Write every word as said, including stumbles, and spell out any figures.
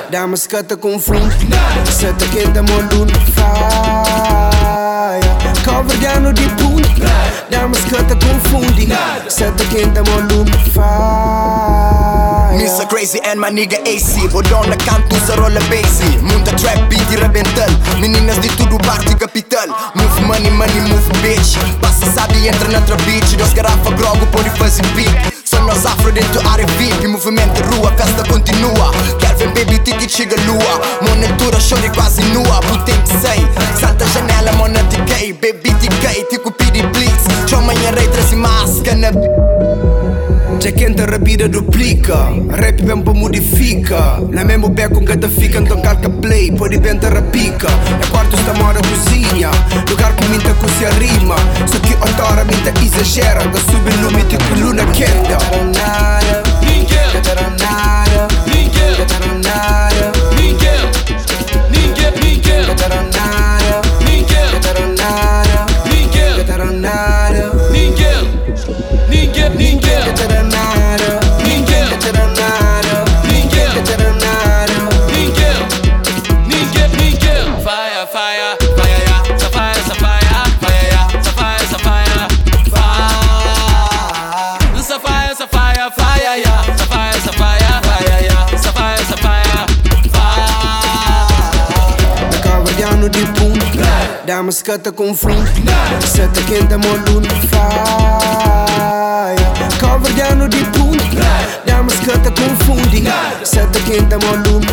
Damas que te confunde, se te quenta molun fire. Coverdiano di punti, damas que te confunde, se te quenta molun fire. Mister Crazy and my nigga A C. Bodona canto să rola bassy. Munta trap beat e rebental. Meninas de tudo parte capital. Move money, money, move bitch. Passa sabe entra na outra beach. Dos garrafa grogo pode fazer beat. Só nós afro dentro área V I P. Movimento rua, festa continua. Kelvin baby ticket chega lua. Monitora chore quase nua. Putem que sei. Salta a janela, mona de gay. Baby de gay, tico pidi blitz. Tchau manhã rei, traz máscara na c'è quem te rapida duplica, rap bem pa modifica. Na mesmo beco que te fica, então calca play, pode bem te rapica. É quarto sta mora cozinha, lugar que minta cozinha rima. Só que autora minta exagera, da sube lume tipo luna quenta. Ninguém, nada, ninguém, nada, ninguém, ninguém, ninguém, nada, ninguém, nada, ninguém, nada, ninguém, ninguém, ninguém. Damas que te confunde, se te quenta molun fire. Coverdiano di punti, damas que te confunde, se te quenta molun